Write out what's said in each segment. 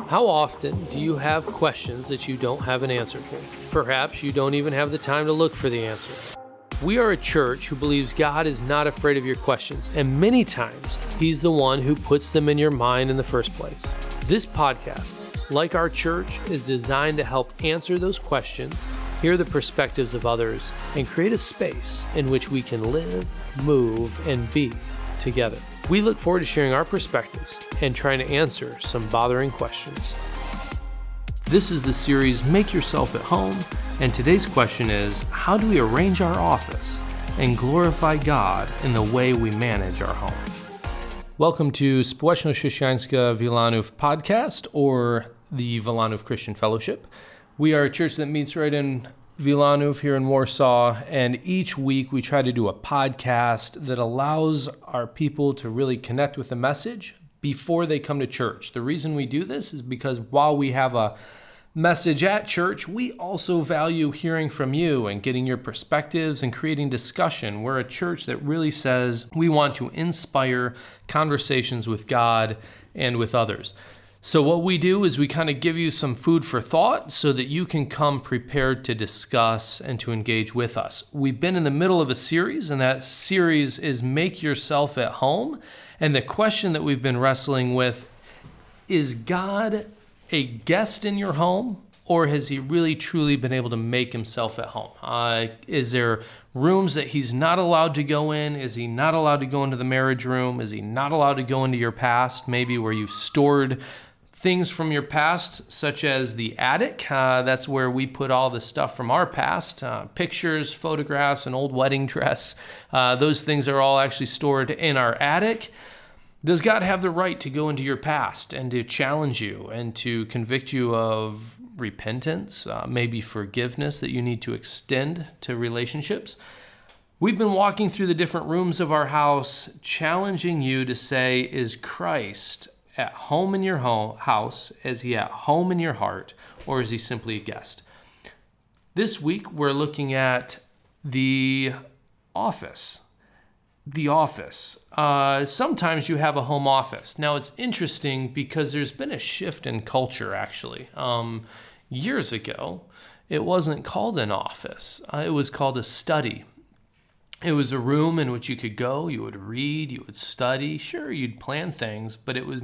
How often do you have questions that you don't have an answer for? Perhaps you don't even have the time to look for the answer. We are a church who believes God is not afraid of your questions, and many times He's the one who puts them in your mind in the first place. This podcast, like our church, is designed to help answer those questions, hear the perspectives of others, and create a space in which we can live, move, and be together. We look forward to sharing our perspectives and trying to answer some bothering questions. This is the series Make Yourself at Home, and today's question is, how do we arrange our office and God in the way we manage our home? Welcome to Społeczność Wilanów podcast, or the Wilanów Christian Fellowship. We are a church that meets right in Wilanów here in Warsaw, and each week we try to do a podcast that allows our people to really connect with the message before they come to church. The reason we do this is because while we have a message at church, we also value hearing from you and getting your perspectives and creating discussion. We're a church that really says we want to inspire conversations with God and with others. So what we do is we kind of give you some food for thought so that you can come prepared to discuss and to engage with us. We've been in the middle of a series, and that series is Make Yourself at Home. And the question that we've been wrestling with is, God a guest in your home, or has He really truly been able to make Himself at home? Is there rooms that He's not allowed to go in? Is He not allowed to go into the marriage room? Is He not allowed to go into your past, maybe where you've stored things from your past, such as the attic? That's where we put all the stuff from our past, pictures, photographs, an old wedding dress. Those things are all actually stored in our attic. Does God have the right to go into your past and to challenge you and to convict you of repentance, maybe forgiveness that you need to extend to relationships? We've been walking through the different rooms of our house, challenging you to say, is Christ at home in your house? Is He at home in your heart? Or is He simply a guest? This week, we're looking at the office. The office. Sometimes you have a home office. Now, it's interesting because there's been a shift in culture, actually. Years ago, it wasn't called an office. It was called a study. It was a room in which you could go, you would read, you would study. Sure, you'd plan things, but it was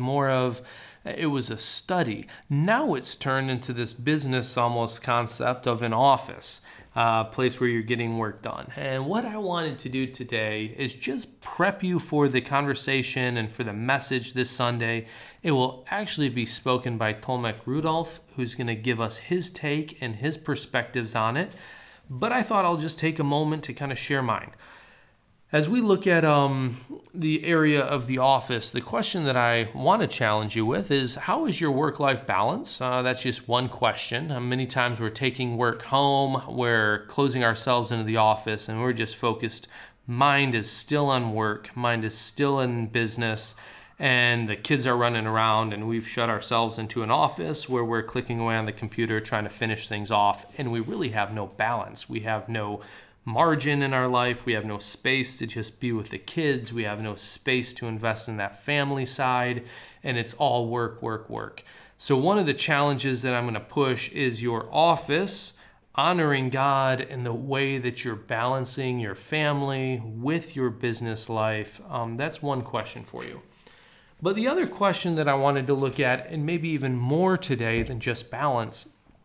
it was a study. Now it's turned into this business almost concept of an office. Place where you're getting work done. And what I wanted to do today is just prep you for the conversation and for the message this Sunday. It will actually be spoken by Tomek Rudolph, who's going to give us his take and his perspectives on it. But I thought I'll just take a moment to kind of share mine. As we look at the area of the office, the question that I want to challenge you with is, how is your work-life balance? That's just one question. Many times we're taking work home, we're closing ourselves into the office, and we're just focused. Mind is still on work, mind is still in business, and the kids are running around, and we've shut ourselves into an office where we're clicking away on the computer trying to finish things off, and we really have no balance. We have no margin in our life. We have no space to just be with the kids. We have no space to invest in that family side, and it's all work, work, work. So one of the challenges that I'm going to push is your office, honoring God in the way that you're balancing your family with your business life. That's one question for you. But the other question that I wanted to look at, and maybe even more today than just balance,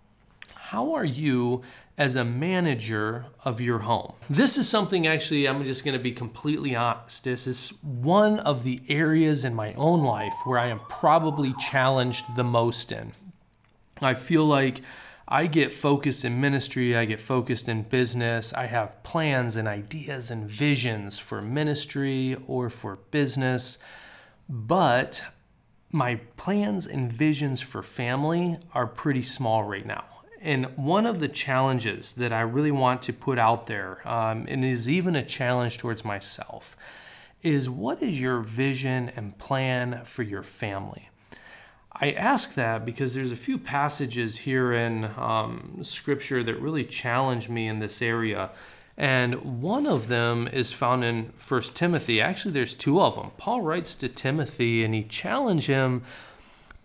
how are you as a manager of your home? This is something, actually, I'm just going to be completely honest. This is one of the areas in my own life where I am probably challenged the most in. I feel like I get focused in ministry, I get focused in business, I have plans and ideas and visions for ministry or for business, but my plans and visions for family are pretty small right now. And one of the challenges that I really want to put out there, and is even a challenge towards myself, is what is your vision and plan for your family? I ask that because there's a few passages here in Scripture that really challenge me in this area. And one of them is found in 1 Timothy. Actually, there's two of them. Paul writes to Timothy, and he challenged him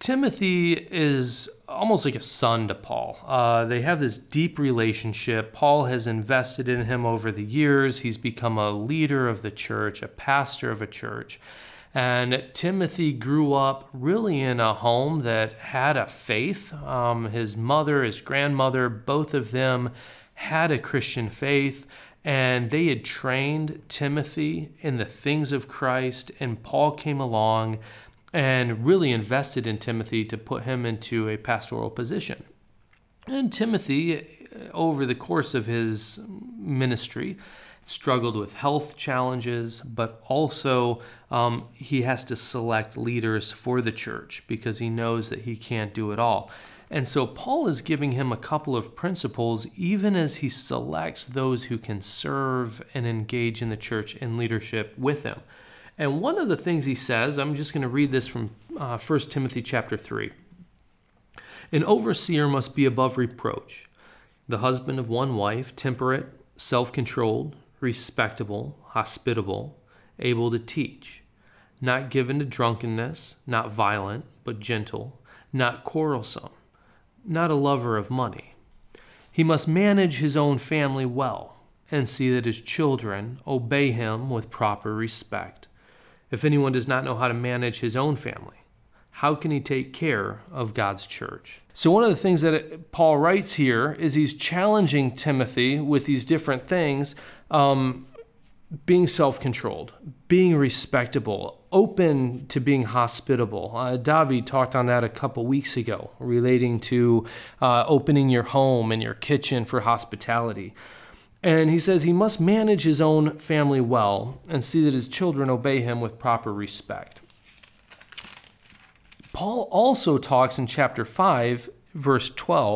Timothy is almost like a son to Paul. They have this deep relationship. Paul has invested in him over the years. He's become a leader of the church, a pastor of a church. And Timothy grew up really in a home that had a faith. His mother, his grandmother, both of them had a Christian faith. And they had trained Timothy in the things of Christ. And Paul came along and really invested in Timothy to put him into a pastoral position. And Timothy, over the course of his ministry, struggled with health challenges, but also he has to select leaders for the church because he knows that he can't do it all. And so Paul is giving him a couple of principles, even as he selects those who can serve and engage in the church in leadership with him. And one of the things he says, I'm just going to read this from 1 Timothy chapter 3. An overseer must be above reproach, the husband of one wife, temperate, self-controlled, respectable, hospitable, able to teach, not given to drunkenness, not violent, but gentle, not quarrelsome, not a lover of money. He must manage his own family well and see that his children obey him with proper respect. If anyone does not know how to manage his own family, how can he take care of God's church? So one of the things that Paul writes here is he's challenging Timothy with these different things, being self-controlled, being respectable, open to being hospitable. David talked on that a couple weeks ago, relating to opening your home and your kitchen for hospitality. And he says he must manage his own family well and see that his children obey him with proper respect. Paul also talks in chapter 5, verse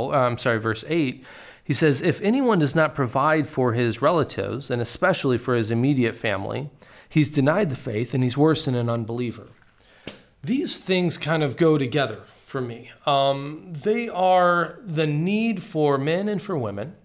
8. He says, if anyone does not provide for his relatives, and especially for his immediate family, he's denied the faith and he's worse than an unbeliever. These things kind of go together for me. They are the need for men and for women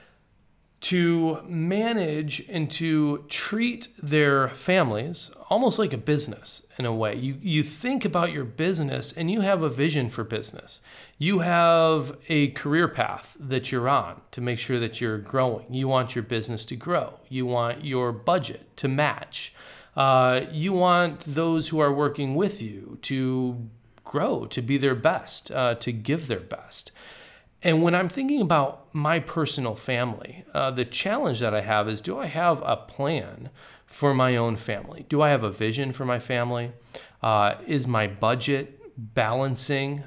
to manage and to treat their families almost like a business in a way. You think about your business and you have a vision for business. You have a career path that you're on to make sure that you're growing. You want your business to grow. You want your budget to match. You want those who are working with you to grow, to be their best, to give their best. And when I'm thinking about my personal family, the challenge that I have is, do I have a plan for my own family? Do I have a vision for my family? Is my budget balancing?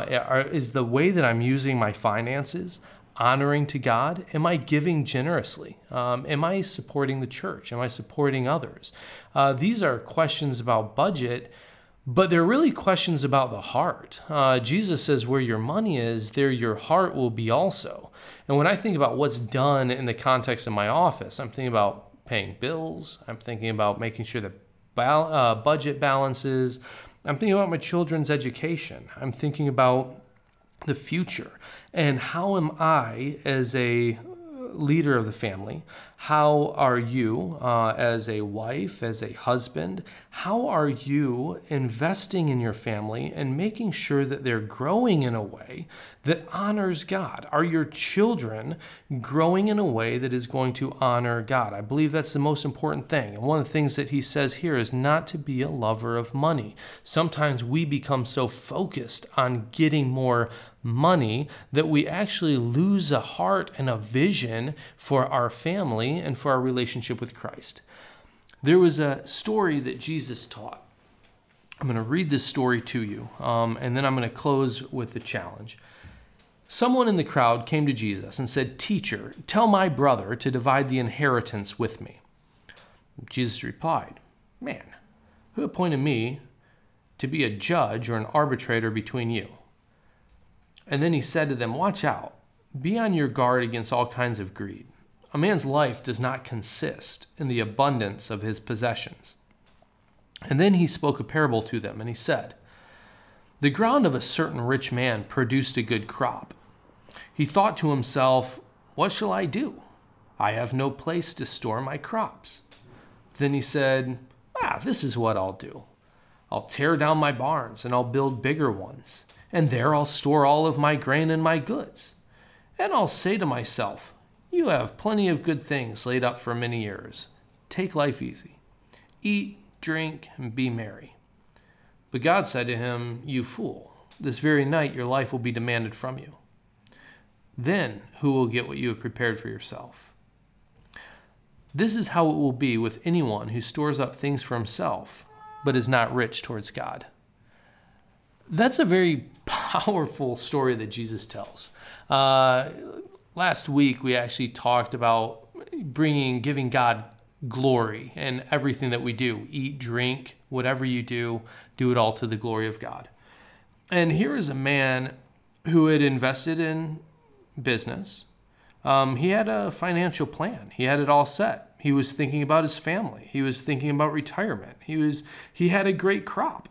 Is the way that I'm using my finances honoring to God? Am I giving generously? Am I supporting the church? Am I supporting others? These are questions about budget, but they're really questions about the heart. Jesus says where your money is, there your heart will be also. And when I think about what's done in the context of my office, I'm thinking about paying bills. I'm thinking about making sure that budget balances. I'm thinking about my children's education. I'm thinking about the future. And how am I, as a leader of the family, how are you as a wife, as a husband, how are you investing in your family and making sure that they're growing in a way that honors God? Are your children growing in a way that is going to honor God? I believe that's the most important thing. And one of the things that he says here is not to be a lover of money. Sometimes we become so focused on getting more money that we actually lose a heart and a vision for our family and for our relationship with Christ. There was a story that Jesus taught. I'm going to read this story to you, and then I'm going to close with the challenge. Someone in the crowd came to Jesus and said, "Teacher, tell my brother to divide the inheritance with me." Jesus replied, "Man, who appointed me to be a judge or an arbitrator between you?" And then he said to them, "Watch out. Be on your guard against all kinds of greed. A man's life does not consist in the abundance of his possessions." And then he spoke a parable to them, and he said, "The ground of a certain rich man produced a good crop. He thought to himself, 'What shall I do? I have no place to store my crops.' Then he said, 'This is what I'll do. I'll tear down my barns and I'll build bigger ones. And there I'll store all of my grain and my goods. And I'll say to myself, you have plenty of good things laid up for many years. Take life easy. Eat, drink, and be merry. But God said to him, you fool, this very night your life will be demanded from you. Then who will get what you have prepared for yourself? This is how it will be with anyone who stores up things for himself, but is not rich towards God. That's a very powerful story that Jesus tells. Last week, we actually talked about giving God glory in everything that we do. Eat, drink, whatever you do it all to the glory of God. And here is a man who had invested in business. He had a financial plan. He had it all set. He was thinking about his family. He was thinking about retirement. He had a great crop.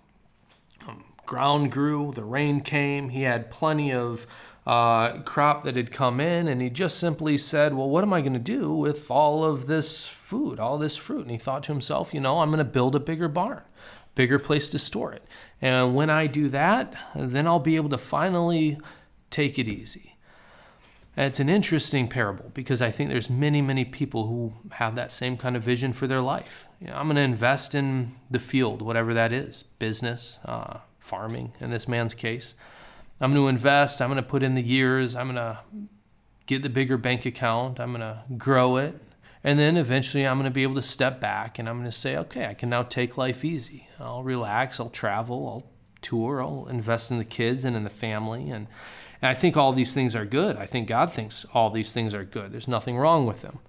Ground grew, the rain came. He had plenty of crop that had come in, and he just simply said, well, what am I going to do with all of this food, all this fruit? And he thought to himself, I'm going to build a bigger barn, bigger place to store it. And when I do that, then I'll be able to finally take it easy. And it's an interesting parable because I think there's many, many people who have that same kind of vision for their life. I'm going to invest in the field, whatever that is, business, farming in this man's case. I'm going to invest. I'm going to put in the years. I'm going to get the bigger bank account. I'm going to grow it. And then eventually I'm going to be able to step back and I'm going to say, okay, I can now take life easy. I'll relax. I'll travel. I'll tour. I'll invest in the kids and in the family. And I think all these things are good. I think God thinks all these things are good. There's nothing wrong with them.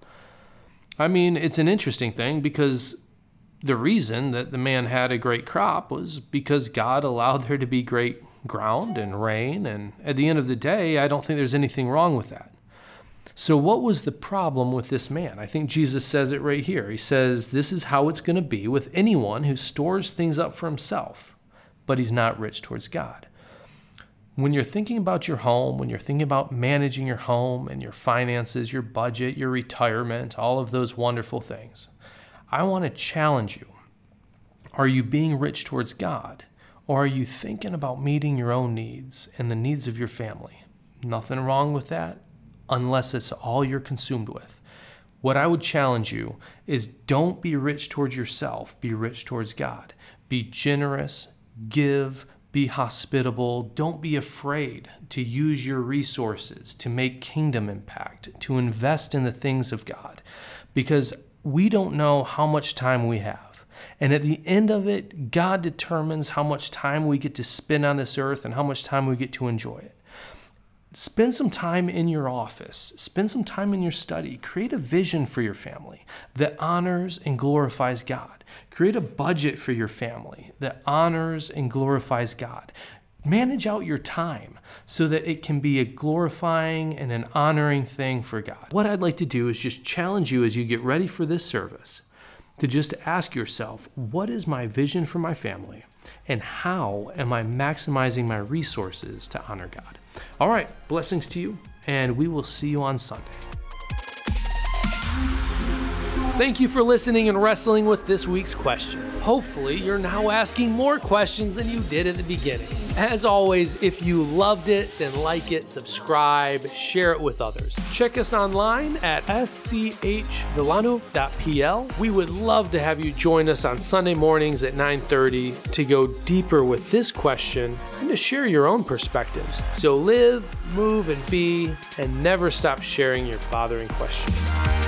I mean, it's an interesting thing because the reason that the man had a great crop was because God allowed there to be great ground and rain. And at the end of the day, I don't think there's anything wrong with that. So what was the problem with this man? I think Jesus says it right here. He says, this is how it's going to be with anyone who stores things up for himself, but he's not rich towards God. When you're thinking about your home, when you're thinking about managing your home and your finances, your budget, your retirement, all of those wonderful things, I want to challenge you. Are you being rich towards God? Or are you thinking about meeting your own needs and the needs of your family? Nothing wrong with that, unless it's all you're consumed with. What I would challenge you is don't be rich towards yourself, be rich towards God. Be generous, give, be hospitable. Don't be afraid to use your resources to make kingdom impact, to invest in the things of God, because we don't know how much time we have. And at the end of it, God determines how much time we get to spend on this earth and how much time we get to enjoy it. Spend some time in your office. Spend some time in your study. Create a vision for your family that honors and glorifies God. Create a budget for your family that honors and glorifies God. Manage out your time so that it can be a glorifying and an honoring thing for God. What I'd like to do is just challenge you as you get ready for this service to just ask yourself, what is my vision for my family? And how am I maximizing my resources to honor God? All right, blessings to you, and we will see you on Sunday. Thank you for listening and wrestling with this week's question. Hopefully, you're now asking more questions than you did at the beginning. As always, if you loved it, then like it, subscribe, share it with others. Check us online at schvillano.pl. We would love to have you join us on Sunday mornings at 9:30 to go deeper with this question and to share your own perspectives. So live, move, and be, and never stop sharing your bothering questions.